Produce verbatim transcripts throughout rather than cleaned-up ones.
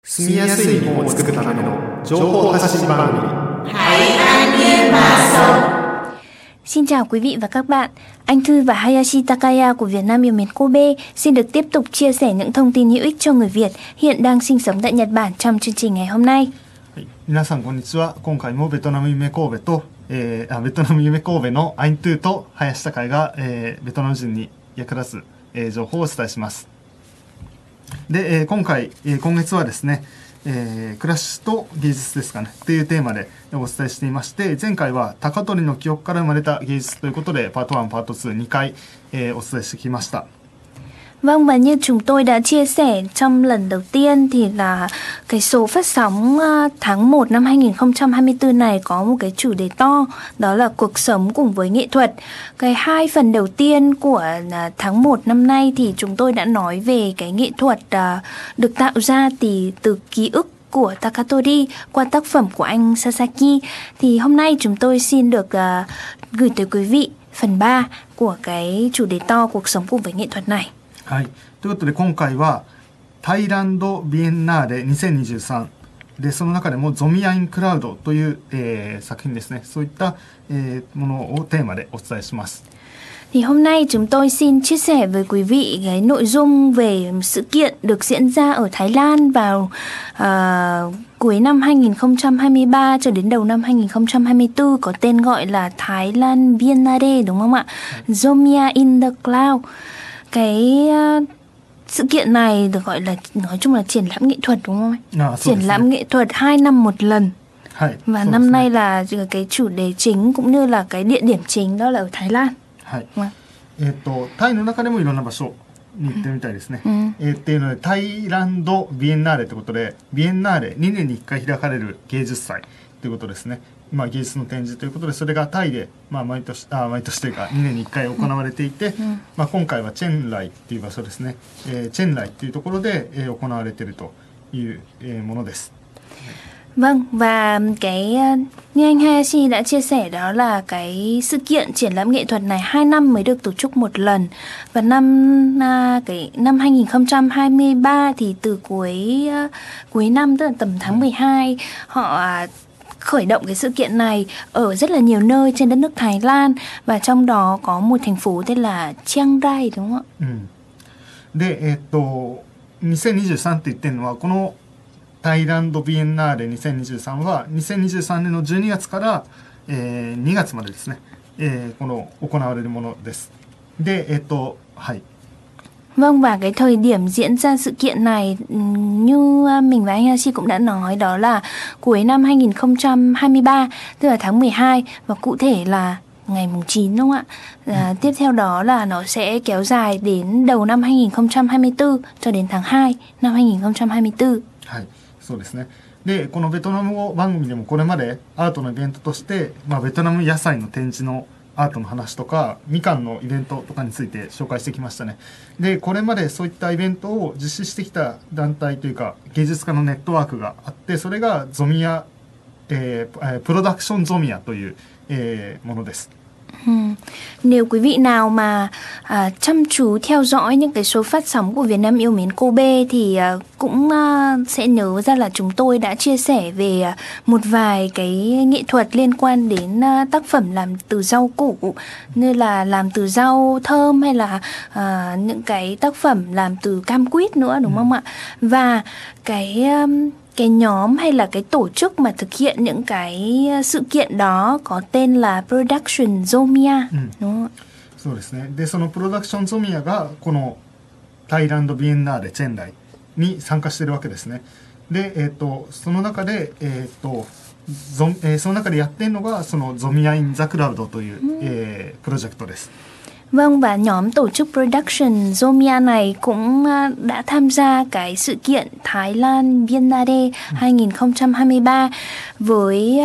住みやすい日本を作るための情報発信番組。 Xin chào quý vị và các bạn. Anh Thư và Hayashi Takaya của Việt Nam yêu mến Kobe xin được tiếp tục chia sẻ những thông tin hữu ích cho người Việt hiện đang sinh sống tại Nhật Bản trong chương trình ngày hôm nay. 皆さんこんにちは。今回もベトナム夢神戸と、えー、あベトナム夢神戸のアイントゥと林孝也が、えー、ベトナム人に役立つ、えー、情報をお伝えします。で、えー、今回、えー、今月はですね、えー、暮らしと芸術ですかねっていうテーマでお伝えしていまして、前回は高取の記憶から生まれた芸術ということでパートワン、パートツー、にかい、えー、お伝えしてきました。 Vâng, và như chúng tôi đã chia sẻ trong lần đầu tiên thì là cái số phát sóng tháng một năm hai không hai tư này có một cái chủ đề to, đó là cuộc sống cùng với nghệ thuật. Cái hai phần đầu tiên của tháng một năm nay thì chúng tôi đã nói về cái nghệ thuật được tạo ra từ, từ ký ức của Takatori qua tác phẩm của anh Sasaki. Thì hôm nay chúng tôi xin được uh, gửi tới quý vị phần ba của cái chủ đề to cuộc sống cùng với nghệ thuật này. はい、ということで今回はタイランドビエンナーレにせんにじゅうさんで、その中でもゾミアインクラウドという、えー、作品ですね、そういった、えー、ものをテーマでお伝えします。 Thì hôm nay chúng tôi xin chia sẻ với quý vị cái nội dung về sự kiện được diễn ra ở Thái Lan vào uh, cuối năm hai không hai ba cho đến đầu năm hai không hai tư, có tên gọi là Thái Lan Biennale, đúng không ạ? Zomia in the Cloud. Cái uh, sự kiện này được gọi là nói chung là triển lãm nghệ thuật, đúng không anh? À, triển lãm nghệ thuật hai năm một lần. Hai, và năm nay là cái chủ đề chính cũng như là cái địa điểm chính đó là ở Thái Lan. はい、えっとタイの中でもいろんな場所に行ってみたいですね。うん、えー、っていうのでタイランドビエンナーレということで、ビエンナーレにねんにいっかい開かれる芸術祭ということですね。まあ、芸術の展示ということで、それがタイで、まあ、毎年あ毎年というかにねんにいっかい行われていて、うん、まあ、今回はチェンライっていう場所ですね、えー、チェンライっていうところで、えー、行われているという、えー、ものです。 Vâng, và cái như anh Hayashi đã chia sẻ đó là cái sự kiện triển lãm nghệ thuật này hai năm mới được tổ chức một lần. Và năm cái năm hai không hai ba thì từ cuối cuối năm, tức là tầm tháng mười hai, họ khởi động cái sự kiện này ở rất là nhiều nơi trên đất nước Thái Lan, và trong đó có một thành phố tên là Chiang Rai, đúng không ạ? Ừ. で、えっとにせんにじゅうさんって言ってるのはこのタイランドビエンナーレにせんにじゅうさんはにせんにじゅうさんねんのじゅうにがつから、えー、にがつまでですね、えー、この行われるものです。で、えっと、はい。 Vâng, và cái thời điểm diễn ra sự kiện này như mình và anh Hayashi cũng đã nói, đó là cuối năm hai không hai ba, tức là tháng mười hai, và cụ thể là ngày mùng chín, đúng không ạ? À, tiếp theo đó là nó sẽ kéo dài đến đầu năm hai không hai tư cho đến tháng hai năm hai không hai tư. はい、そうですね。で、このベトナム語番組でもこれまでアートのイベントとして、まあ、ベトナム野菜の展示のアートの話とかみかんのイベントとかについて紹介してきましたね。で、これまでそういったイベントを実施してきた団体というか芸術家のネットワークがあって、それがゾミア、えー、プロダクションゾミアという、えー、ものです。 Ừ. Nếu quý vị nào mà à, chăm chú theo dõi những cái số phát sóng của Việt Nam yêu mến Kobe thì à, cũng à, sẽ nhớ ra là chúng tôi đã chia sẻ về à, một vài cái nghệ thuật liên quan đến à, tác phẩm làm từ rau củ, như là làm từ rau thơm hay là à, những cái tác phẩm làm từ cam quýt nữa, đúng ừ. không ạ? Và cái um, cái nhóm hay là cái tổ chức mà thực hiện những cái sự kiện đó có tên là Production Zomia、うん、đúng không? そうですね。で、そのプロダクションゾミアがこのタイランドビエンナーレチェンライに参加しているわけですね。で、えっとその中でえっとゾ、えー、その中でやってるのがそのゾミアインザクラウドという、うん、えー、プロジェクトです。 Vâng, và nhóm tổ chức Production Zomia này cũng đã tham gia cái sự kiện Thái Lan Biennale hai không hai ba với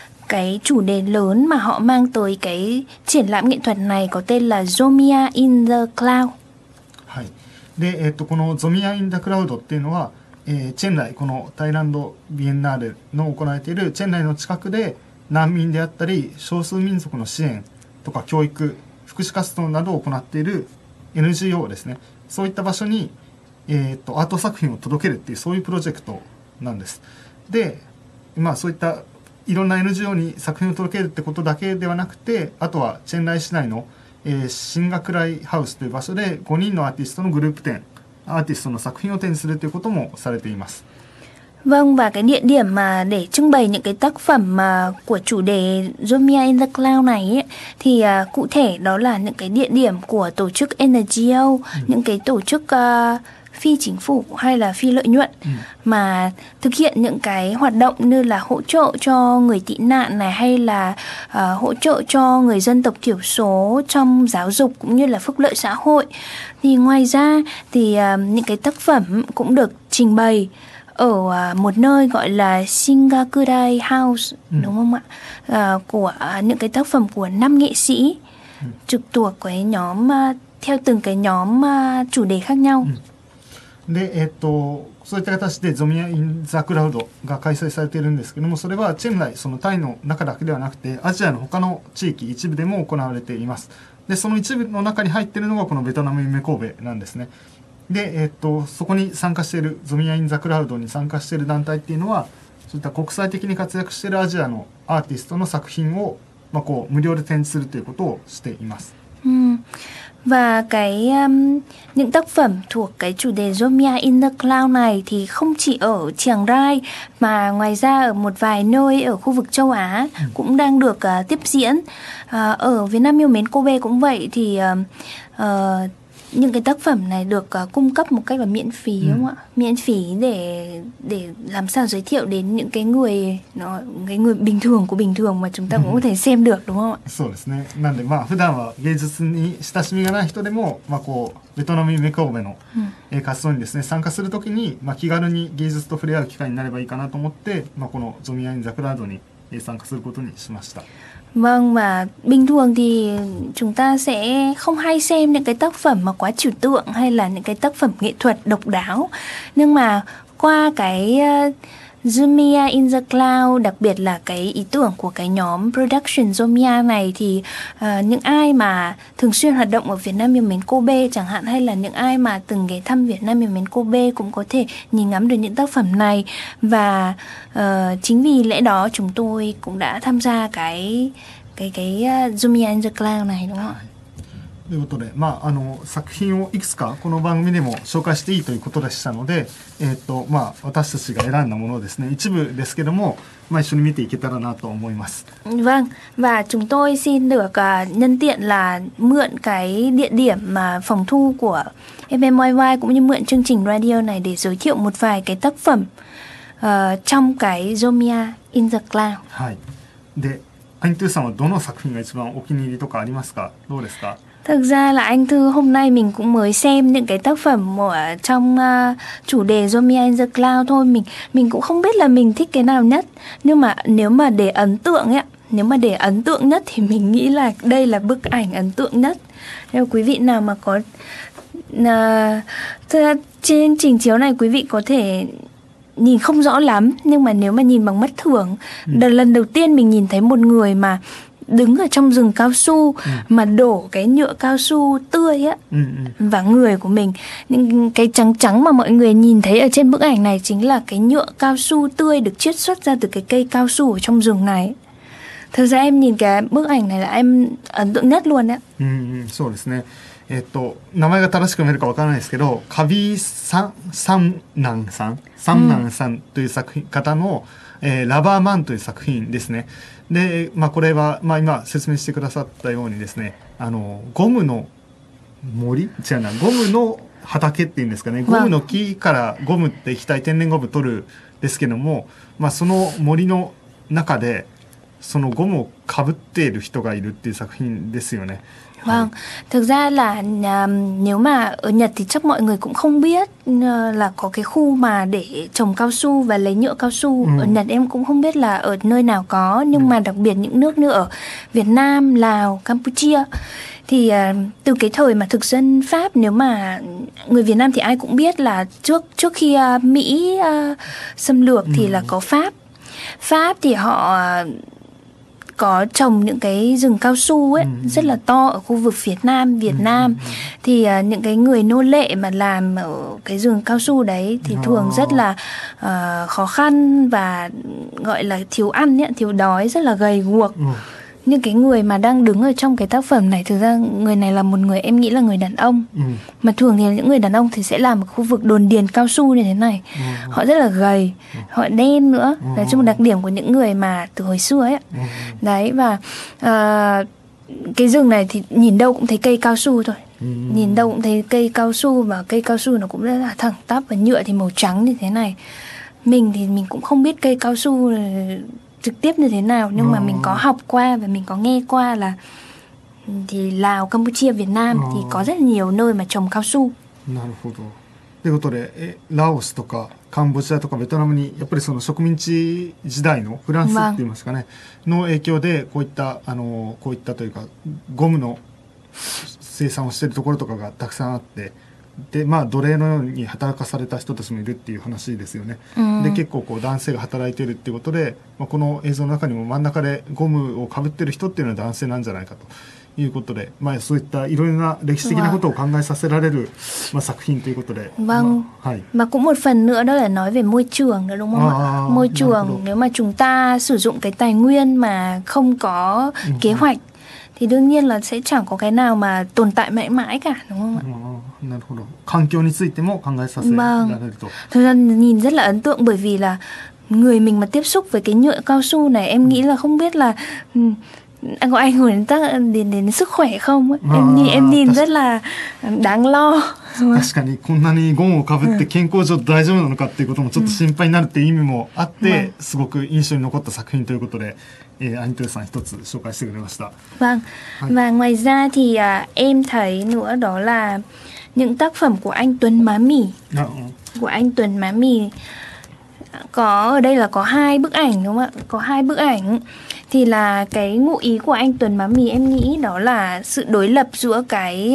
cái chủ đề lớn mà họ mang tới cái triển lãm nghệ thuật này có tên là Zomia in the Cloud. はい。で、えっとこの Zomia in the Cloud っていうのは、えー、チェンライ、このタイランドビエンナーレの行われているチェンライの近くで難民であったり少数民族の支援とか教育、福祉活動などを行っている エヌジーオー ですね。そういった場所に、えー、とアート作品を届けるっていうそういうプロジェクトなんです。で、まあそういったいろんな エヌジーオー に作品を届けるってことだけではなくて、あとはチェンライ市内の、えー、シンガクライハウスという場所でごにんのアーティストのグループ展、アーティストの作品を展示するということもされています。 Vâng, và cái địa điểm mà để trưng bày những cái tác phẩm mà của chủ đề Zomia in the Cloud này ấy, thì uh, cụ thể đó là những cái địa điểm của tổ chức en giê ô, ừ. những cái tổ chức uh, phi chính phủ hay là phi lợi nhuận ừ. mà thực hiện những cái hoạt động như là hỗ trợ cho người tị nạn này, hay là uh, hỗ trợ cho người dân tộc thiểu số trong giáo dục cũng như là phúc lợi xã hội. Thì ngoài ra thì uh, những cái tác phẩm cũng được trình bày ở uh, một nơi gọi là Singakurai House, ừ. đúng không ạ? Uh, của uh, những cái tác phẩm của năm nghệ sĩ ừ. trực thuộc cái nhóm uh, theo từng cái nhóm uh, chủ đề khác nhau. Ừ. で、えっと、そういった形でゾミア・イン・ザ・クラウドが開催されているんですけども、それはチェンライ、そのタイの中だけではなくて、アジアの他の地域一部でも行われています。で、その一部の中に入っているのがこのベトナム夢神戸なんですね。で、えっと、そこに参加している、ゾミア・イン・ザ・クラウドに参加している団体っていうのは、そういった国際的に活躍しているアジアのアーティストの作品を、まあ、こう無料で展示するということをしています。 うん。Và cái um, những tác phẩm thuộc cái chủ đề Zomia in the Cloud này thì không chỉ ở Chiang Rai mà ngoài ra ở một vài nơi ở khu vực châu Á ừ. cũng đang được uh, tiếp diễn. Uh, ở Việt Nam yêu mến Kobe cũng vậy, thì uh, uh, những cái tác phẩm này được uh, cung cấp một cách là miễn phí, ừ. đúng không ạ? Miễn phí để để làm sao giới thiệu đến những cái người nó cái người bình thường của bình thường mà chúng ta cũng có thể xem được, đúng không ạ? そうですね。なんでまあ普段は芸術に親しみがない人でもまあこうベトナム夢神戸の、うん、活動にですね参加するときにまあ気軽に芸術と触れ合う機会になればいいかなと思ってまあこのゾミア・イン・ザ・クラウドに参加することにしました。 Vâng, và bình thường thì chúng ta sẽ không hay xem những cái tác phẩm mà quá trừu tượng hay là những cái tác phẩm nghệ thuật độc đáo. Nhưng mà qua cái uh, Zomia in the Cloud, đặc biệt là cái ý tưởng của cái nhóm Production Zomia này, thì uh, những ai mà thường xuyên hoạt động ở Việt Nam yêu mến Kobe chẳng hạn, hay là những ai mà từng ghé thăm Việt Nam yêu mến Kobe cũng có thể nhìn ngắm được những tác phẩm này. Và uh, chính vì lẽ đó chúng tôi cũng đã tham gia cái cái cái uh, Zomia in the Cloud này, đúng không ạ? ということで、まあ、あの作品をいくつかこの番組でも紹介していいということでしたので、えーとまあ、私たちが選んだものをですね一部ですけども、まあ、一緒に見ていけたらなと思います。 Vâng, và chúng tôi xin được uh, nhân tiện là mượn cái địa điểm mà phòng thu của ép em i vê cũng như mượn chương trình radio này để giới thiệu một vài cái tác phẩm uh, trong cái Zomia in the Cloud. はい。で、アイントゥーさんはどの作品が一番お気に入りとかありますか？どうですか？ Thực ra là anh Thư hôm nay mình cũng mới xem những cái tác phẩm ở trong uh, chủ đề Zomia in the Cloud thôi. Mình mình cũng không biết là mình thích cái nào nhất. Nhưng mà nếu mà để ấn tượng ấy, nếu mà để ấn tượng nhất thì mình nghĩ là đây là bức ảnh ấn tượng nhất. Nếu quý vị nào mà có uh, trên trình chiếu này quý vị có thể nhìn không rõ lắm, nhưng mà nếu mà nhìn bằng mắt thường, ừ. lần đầu tiên mình nhìn thấy một người mà đứng ở trong rừng cao su ừ. mà đổ cái nhựa cao su tươi á ừ, ừ. vào người của mình. Những cái trắng trắng mà mọi người nhìn thấy ở trên bức ảnh này chính là cái nhựa cao su tươi được chiết xuất ra từ cái cây cao su ở trong rừng này. Thực ra em nhìn cái bức ảnh này là em ấn tượng nhất luôn đấy. Ừ, ừ, そうですね。えっと名前が正しく読めるかわからないですけど、カビササンナンさん、サンナンさんという作品方の、えー、ラバーマンという作品ですね。で、まあ、これは、まあ、今説明してくださったようにですね、あのゴムの森違うなゴムの畑っていうんですかね、ゴムの木からゴムって液体天然ゴム取るですけども、まあ、その森の中でそのゴムをかぶっている人がいるっていう作品ですよね。 Vâng, thực ra là uh, nếu mà ở Nhật thì chắc mọi người cũng không biết uh, là có cái khu mà để trồng cao su và lấy nhựa cao su. Ừ. Ở Nhật em cũng không biết là ở nơi nào có, nhưng ừ. mà đặc biệt những nước như ở Việt Nam, Lào, Campuchia thì uh, từ cái thời mà thực dân Pháp, nếu mà người Việt Nam thì ai cũng biết là trước trước khi uh, Mỹ uh, xâm lược ừ. thì là có Pháp. Pháp thì họ uh, có trồng những cái rừng cao su ấy ừ. rất là to ở khu vực phía Nam Việt ừ. Nam. Ừ. Thì uh, những cái người nô lệ mà làm ở cái rừng cao su đấy thì thường rất là uh, khó khăn và gọi là thiếu ăn ấy, thiếu đói, rất là gầy guộc. Ừ. Như cái người mà đang đứng ở trong cái tác phẩm này, thực ra người này là một người em nghĩ là người đàn ông. Ừ. Mà thường thì những người đàn ông thì sẽ làm ở khu vực đồn điền cao su như thế này. Ừ. Họ rất là gầy, ừ. họ đen nữa. Ừ. Là trong đặc điểm của những người mà từ hồi xưa ấy. Ừ. Đấy, và uh, cái rừng này thì nhìn đâu cũng thấy cây cao su thôi. Ừ. Nhìn đâu cũng thấy cây cao su, và cây cao su nó cũng rất là thẳng tắp, và nhựa thì màu trắng như thế này. Mình thì mình cũng không biết cây cao su trực tiếp như thế nào, nhưng ừ. mà mình có học qua và mình có nghe qua là thì Lào, Campuchia, Việt Nam ừ. thì có rất nhiều nơi mà trồng cao su. なるほど。ということで、えラオスとかカンボジアとかベトナムにやっぱりその植民地時代のフランスって言いますかね、の影響でこういったあのこういったというかゴムの生産をしているところとかがたくさんあって。でまあ、奴隷のように働かされた人たちもいるっていう話ですよね、うん、で結構こう男性が働いているっていうことで、まあ、この映像の中にも真ん中でゴムをかぶってる人っていうのは男性なんじゃないかということで、まあ、そういったいろいろな歴史的なことを考えさせられる、まあ、作品ということで vâng mà, mà cũng một phần nữa đó là nói về môi trường nữa đúng không à, ạ? Môi trường nếu mà chúng ta sử dụng cái tài nguyên mà không có ừ. kế hoạch thì đương nhiên là sẽ chẳng có cái nào mà tồn tại mãi mãi cả, đúng không ạ? Vâng. 環境についても考えさせられると. Thực ra nhìn rất là ấn tượng, bởi vì là người mình mà tiếp xúc với cái nhựa cao su này, em nghĩ là không biết là có ảnh hưởng đến, đến, đến sức khỏe không ấy. Em nhìn em nhìn rất là đáng lo. 確かにこんなにゴムをかぶって健康上大丈夫なのかっていうこともちょっと心配になるっていう意味もあって、すごく印象に残った作品ということで、えー、アニトゥさん一つ紹介してくれました。 Vâng. Và ngoài ra thì à, em thấy nữa đó là những tác phẩm của anh Tuấn Má Mì. À, ừ. Của anh Tuấn Má Mì có ở đây là có hai bức ảnh, đúng không ạ? Có hai bức ảnh. Thì là cái ngụ ý của anh Tuấn Má Mì em nghĩ đó là sự đối lập giữa cái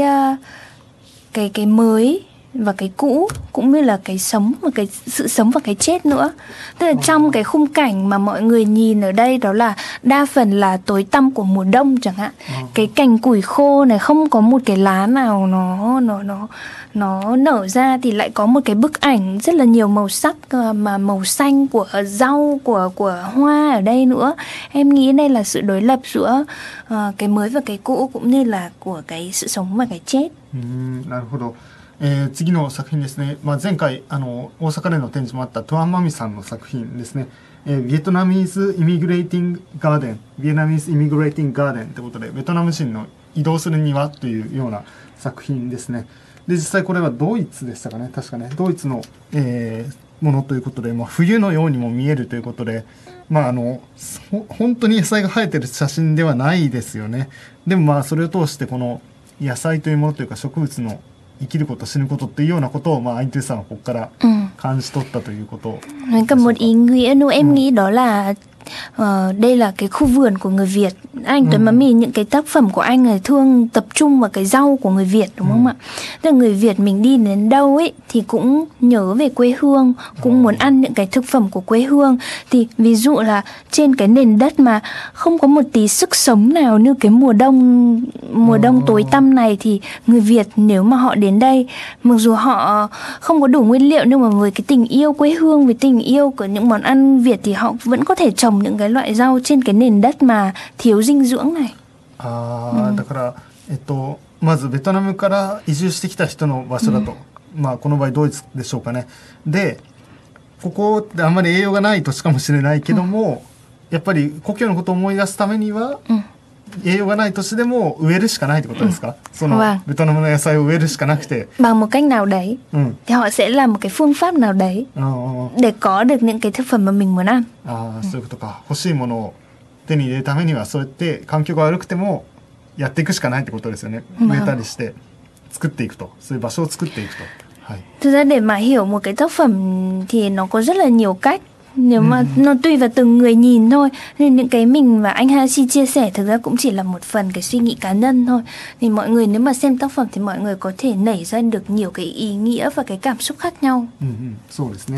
cái cái mới và cái cũ, cũng như là cái sống và cái sự sống và cái chết nữa. Tức là trong cái khung cảnh mà mọi người nhìn ở đây đó là đa phần là tối tăm của mùa đông chẳng hạn. Cái cành củi khô này không có một cái lá nào nó nó nó nó nở ra, thì lại có một cái bức ảnh rất là nhiều màu sắc, mà màu xanh của rau, của của hoa ở đây nữa. Em nghĩ đây là sự đối lập giữa uh, cái mới và cái cũ, cũng như là của cái sự sống và cái chết. Ừ, なるほど。えー、次の作品ですね、まあ、前回あの大阪での展示もあったトゥアンマミさんの作品ですね、えー、ビエトナミーズ・イミグレーティング・ガーデンビエナミーズ・イミグレーティング・ガーデンということで、ベトナム人の移動する庭というような作品ですね。で実際これはドイツでしたかね、確かねドイツの、えー、ものということで、まあ、冬のようにも見えるということで、まあ、あの本当に野菜が生えてる写真ではないですよね。でもまあそれを通してこの野菜というものというか植物の生きること死ぬことっていうようなことを、まあ、anh Tưさんはここから感じ取ったということ。 Còn một ý nghĩa nữa em nghĩ đó là Uh, đây là cái khu vườn của người Việt. Anh Tuấn Má Mì, những cái tác phẩm của anh là thường tập trung vào cái rau của người Việt, đúng không ạ? Tức là người Việt mình đi đến đâu ấy thì cũng nhớ về quê hương, cũng muốn ăn những cái thực phẩm của quê hương. Thì ví dụ là trên cái nền đất mà không có một tí sức sống nào như cái mùa đông mùa đông tối tăm này, thì người Việt nếu mà họ đến đây, mặc dù họ không có đủ nguyên liệu, nhưng mà với cái tình yêu quê hương, với tình yêu của những món ăn Việt, thì họ vẫn có thể trồng những cái loại rau trên cái nền đất mà thiếu dinh dưỡng này. ああ、だからえっとまずベトナムから移住してきた人の場所だと、うん、まあこの場合ドイツでしょうかね。で、ここってあんまり栄養がない土地かもしれないけども、うん、やっぱり故郷のことを思い出すためには、うん、栄養がない土地でも植えるしかないってことですか？ Ừ. その vâng. ベトナムの野菜を植えるしかなくて bằng một cách nào đấy, ừ. thì họ sẽ làm một cái phương pháp nào đấy để có được những cái thực phẩm mà mình muốn ăn. ああ、そういうことか。欲しいものを手に入れるためにはそうやって環境が悪くてもやっていくしかないってことですよね。植えたりして作っていくと、そういう場所を作っていくと。はい。 Thực ra để mà hiểu một cái tác phẩm thì nó có rất là nhiều cách. Nếu mà ừ. nó tùy vào từng người nhìn thôi, nên những cái mình và anh Hashi chia sẻ thực ra cũng chỉ là một phần cái suy nghĩ cá nhân thôi. Thì mọi người nếu mà xem tác phẩm thì mọi người có thể nảy ra được nhiều cái ý nghĩa và cái cảm xúc khác nhau. うんうん、そうですね。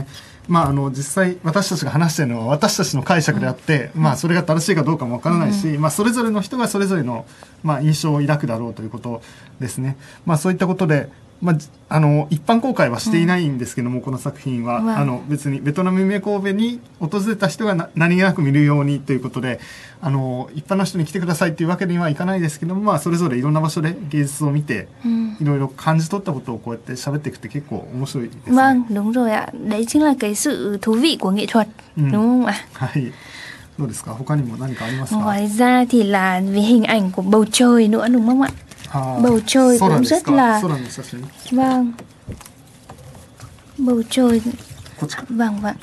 まあ、あの実際私たちが話しているのは私たちの解釈であって、うん、まあ、それが正しいかどうかもわからないし、うん、まあ、それぞれの人がそれぞれの、まあ、印象を抱くだろうということですね。まあ、そういったことで、まあ、あの一般公開はしていないんですけども、うん、この作品は、うん、あの別にベトナム夢神戸に訪れた人がな何気なく見るようにということで、あの一般の人に来てくださいというわけにはいかないですけども、まあ、それぞれいろんな場所で芸術を見て、うん、いろいろ感じ取ったことをこうやって喋っていくって結構面白いですね。 Vâng, đúng rồi ạ. Đấy chính là cái sự thú vị của nghệ thuật, đúng không ạ? はい。どうですか？他にも何かありますか？ Ngoài ra thì là về hình ảnh của bầu trời nữa, đúng không ạ? À, bầu trời cũng rất là vâng bầu trời vâng vâng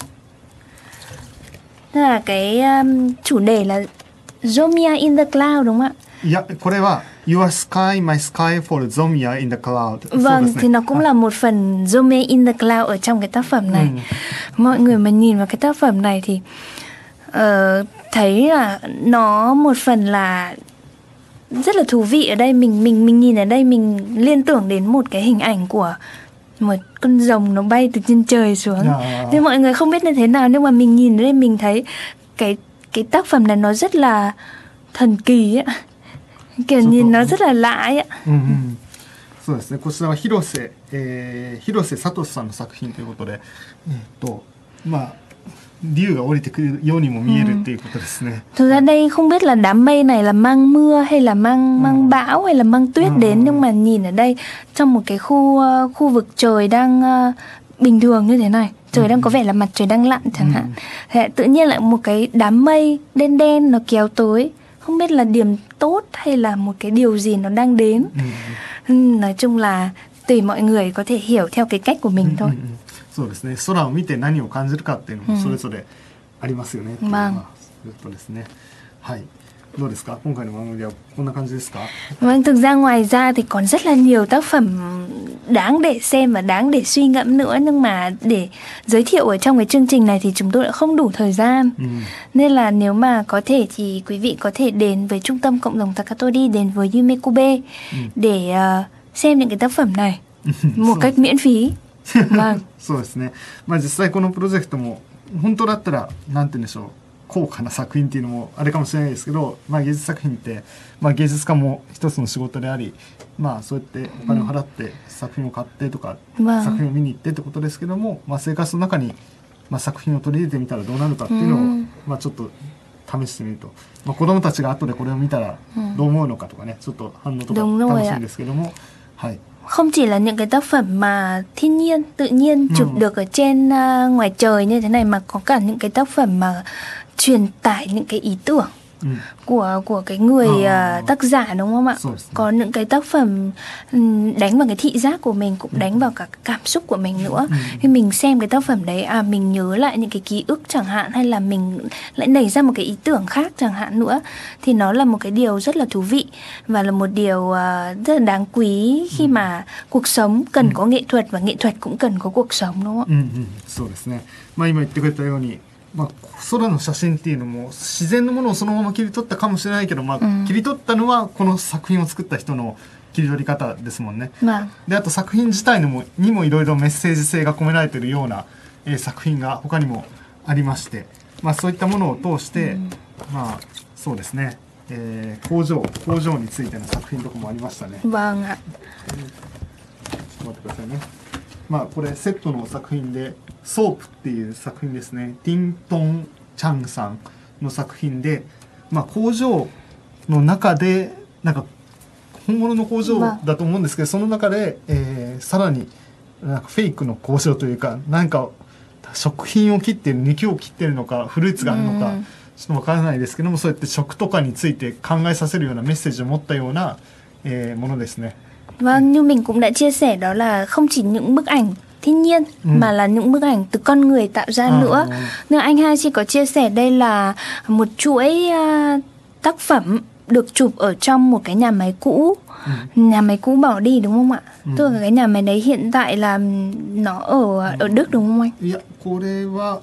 tức là cái um, chủ đề là Zomia in the cloud đúng không ạ? Dạ,これは Your sky, my sky for Zomia in the cloud. Vâng, thì nó cũng là một phần Zomia in the cloud ở trong cái tác phẩm này. Ừ. Mọi người mà nhìn vào cái tác phẩm này thì uh, thấy là nó một phần là rất là thú vị. Ở đây mình mình mình nhìn ở đây mình liên tưởng đến một cái hình ảnh của một con rồng nó bay từ trên trời xuống. À. Thế mọi người không biết như thế nào, nhưng mà mình nhìn ở đây mình thấy cái cái tác phẩm này nó rất là thần kỳ ấy. Kiểu nhìn nó rất là lạ ấy ạ. Ừ, ừ. そうですね。こちらは広瀬、えー、広瀬聡さんの作品ということで、えー、とまあ竜が降りてくるようにも見えるっていうことですね。 Thực ra đây không biết là đám mây này là mang mưa hay là mang mang bão hay là mang tuyết đến, nhưng mà nhìn ở đây trong một cái khu khu vực trời đang uh, bình thường như thế này, trời đang có vẻ là mặt trời đang lặn chẳng hạn. Thế tự nhiên lại một cái đám mây đen đen nó kéo tới, không biết là điểm tốt hay là một cái điều gì nó đang đến. Nói chung là tùy mọi người có thể hiểu theo cái cách của mình thôi. そうですね。空を見て何を感じるかっていうのもそれぞれありますよね。まあ、そういうことですね。はい。どうですか？今回の番組はこんな感じですか？ Vâng, thực ra ngoài ra thì còn rất là nhiều tác phẩm đáng để xem và đáng để suy ngẫm nữa, nhưng mà để giới thiệu ở trong cái chương trình này thì chúng tôi đã không đủ thời gian. Ừ. Nên là nếu mà có thể thì quý vị có thể đến với trung tâm cộng đồng Takatori, đến với Yume Kobe ừ. để uh, xem những cái tác phẩm này một cách miễn phí. Vâng. そうですね。まあ実際このプロジェクトも本当だったらなんて言うんでしょう、高価な作品っていうのもあれかもしれないですけど、まあ芸術作品ってまあ芸術家も一つの仕事であり、まあそうやってお金を払って作品を買ってとか、うん、作品を見に行ってってことですけども、まあ生活の中にまあ作品を取り入れてみたらどうなるかっていうのを、うん、まあちょっと試してみると、まあ子供たちが後でこれを見たらどう思うのかとかね、ちょっと反応とか楽しいんですけども、はい。 Không chỉ là những cái tác phẩm mà thiên nhiên, tự nhiên chụp ừ. được ở trên uh, ngoài trời như thế này, mà có cả những cái tác phẩm mà truyền tải những cái ý tưởng ừ. của của cái người à. uh, tác giả, đúng không ạ? Có những cái tác phẩm um, đánh vào cái thị giác của mình, cũng đánh vào cả cảm xúc của mình nữa. Ừ. Khi mình xem cái tác phẩm đấy, à mình nhớ lại những cái ký ức chẳng hạn, hay là mình lại nảy ra một cái ý tưởng khác chẳng hạn nữa, thì nó là một cái điều rất là thú vị và là một điều uh, rất là đáng quý khi ừ. mà cuộc sống cần ừ. có nghệ thuật và nghệ thuật cũng cần có cuộc sống, đúng không ạ? Ừ, ừ. そうですね。まあ今言ってくれたように。まあ、空の写真っていうのも自然のものをそのまま切り取ったかもしれないけど、まあ、うん、切り取ったのはこの作品を作った人の切り取り方ですもんね。まあ、であと作品自体のもにもいろいろメッセージ性が込められているような、えー、作品が他にもありまして、まあ、そういったものを通して、うん、まあそうですね、えー、工場工場についての作品とかもありましたね。 わが、 えー、ちょっと待ってくださいね。まあこれセットの作品でソープっていう作品ですね。ティントン・チャンさんの作品で、まあ、工場の中でなんか本物の工場だと思うんですけど、その中で、えー、さらになんかフェイクの工場というか、なんか食品を切ってる、肉を切ってるのかフルーツがあるのかちょっとわからないですけども、そうやって食とかについて考えさせるようなメッセージを持ったような、えー、ものですね。 Vâng, như mình cũng đã chia sẻ, đó là không chỉ những bức ảnh thiên nhiên ừ. mà là những bức ảnh từ con người tạo ra à, nữa. Ừ. Nên anh Haji có chia sẻ đây là một chuỗi uh, tác phẩm được chụp ở trong một cái nhà máy cũ, ừ. nhà máy cũ bỏ đi, đúng không ạ? Ừ. Tức là cái nhà máy đấy hiện tại là nó ở ở Đức, đúng không anh? Dạ, cô đây là...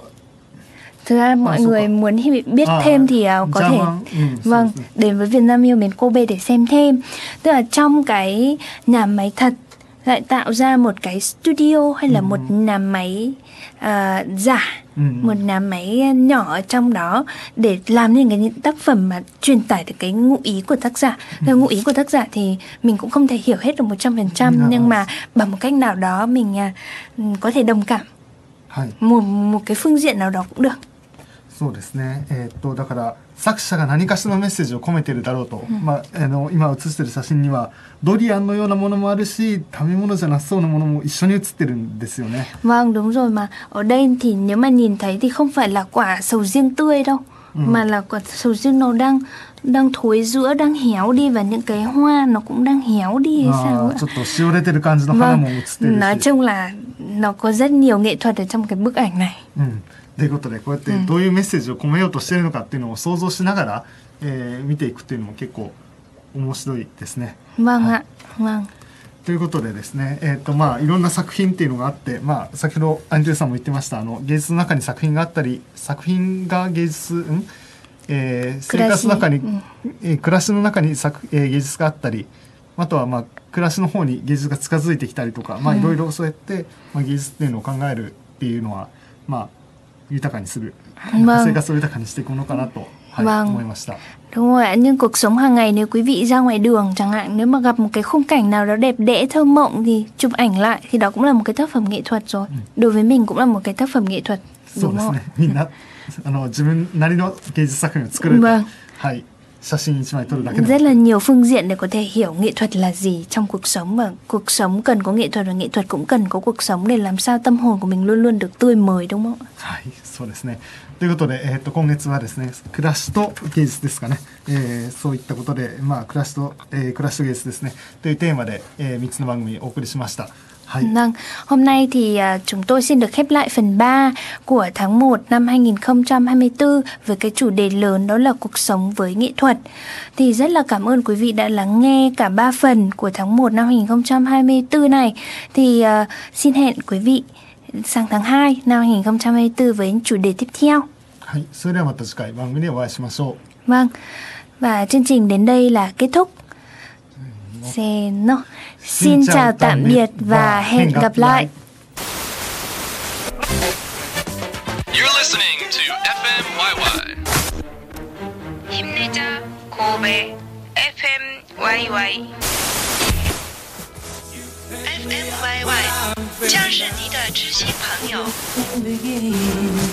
Thực ra mọi à, người muốn biết à, thêm thì uh, có thể ừ, vâng đến với Việt Nam yêu mến Kobe để xem thêm. Tức là trong cái nhà máy thật lại tạo ra một cái studio hay là ừ. một nhà máy uh, giả, ừ. một nhà máy nhỏ ở trong đó để làm nên cái những tác phẩm mà truyền tải được cái ngụ ý của tác giả. ừ. Ngụ ý của tác giả thì mình cũng không thể hiểu hết được một trăm phần trăm, nhưng mà bằng một cách nào đó mình uh, có thể đồng cảm một, một cái phương diện nào đó cũng được. そうですね、えー、っとだから作者が何かしらのメッセージを込めているだろうと、うん、まあ、あの今写している写真にはドリアンのようなものもあるし、食べ物じゃなさそうなものも一緒に写ってるんですよね。 Vâng, đúng rồi, mà ở đây thì nếu mà nhìn thấy thì không phải là quả sầu riêng tươi đâu, ừ. mà là quả sầu riêng nó đang đang thối rữa, đang héo đi, và những cái hoa nó cũng đang héo đi hay sao ạ? Vâng, nói chung là nó có rất nhiều nghệ thuật ở trong cái bức ảnh này. Ừ. ということで、こうやってどういうメッセージを込めようとしているのかっていうのを想像しながら、えー、見ていくっていうのも結構面白いですね。 Vâng ạ. Vâng. ということでですね、えーとまあ、いろんな作品っていうのがあって、まあ、先ほどアンジェルさんも言ってました、あの芸術の中に作品があったり、作品が芸術、んえー、生活の中に、うんえー、暮らしの中に作、えー、芸術があったり、あとは、まあ、暮らしの方に芸術が近づいてきたりとか、まあ、いろいろそうやって、まあ、芸術っていうのを考えるっていうのは、まあ豊かにする、vâng. 生活を豊かにしていくのかなと、はい、 vâng. 思いました。 Đúng rồi ạ, nhưng cuộc sống hàng ngày nếu quý vị ra ngoài đường chẳng hạn, nếu mà gặp một cái khung cảnh nào đó đẹp đẽ thơ mộng thì chụp ảnh lại thì đó cũng là một cái tác phẩm nghệ thuật rồi. Ừ. Đối với mình cũng là một cái tác phẩm nghệ thuật. Đúng không? みんなあの自分なりの芸術作品を作る。 Vâng. はい。写真一枚撮るだけで rất là nhiều phương diện để có thể hiểu nghệ thuật là gì trong cuộc sống, và cuộc sống cần có nghệ thuật và nghệ thuật cũng cần có cuộc sống để làm sao tâm hồn của mình luôn luôn được tươi mới, đúng không? はい、そうですね。ということで、えー、と今月はですね、暮らしと芸術ですかね、えー、そういったことで、まあ、暮らしと、えー、暮らしと芸術ですねというテーマで、えー、みっつの番組をお送りしました。 Vâng, hôm nay thì uh, chúng tôi xin được khép lại phần ba của tháng một năm hai nghìn không trăm hai mươi tư với cái chủ đề lớn đó là cuộc sống với nghệ thuật. Thì rất là cảm ơn quý vị đã lắng nghe cả ba phần của tháng một năm hai nghìn không trăm hai mươi tư này. Thì uh, xin hẹn quý vị sang tháng hai năm hai nghìn không trăm hai mươi tư với chủ đề tiếp theo. Vâng, và chương trình đến đây là kết thúc. Xin, no. Xin chào tạm biệt và hẹn gặp lại. You're listening to ép em Y Y. 힘내자 Kobe ép em Y Y. ép em Y Y 将是你的知心朋友。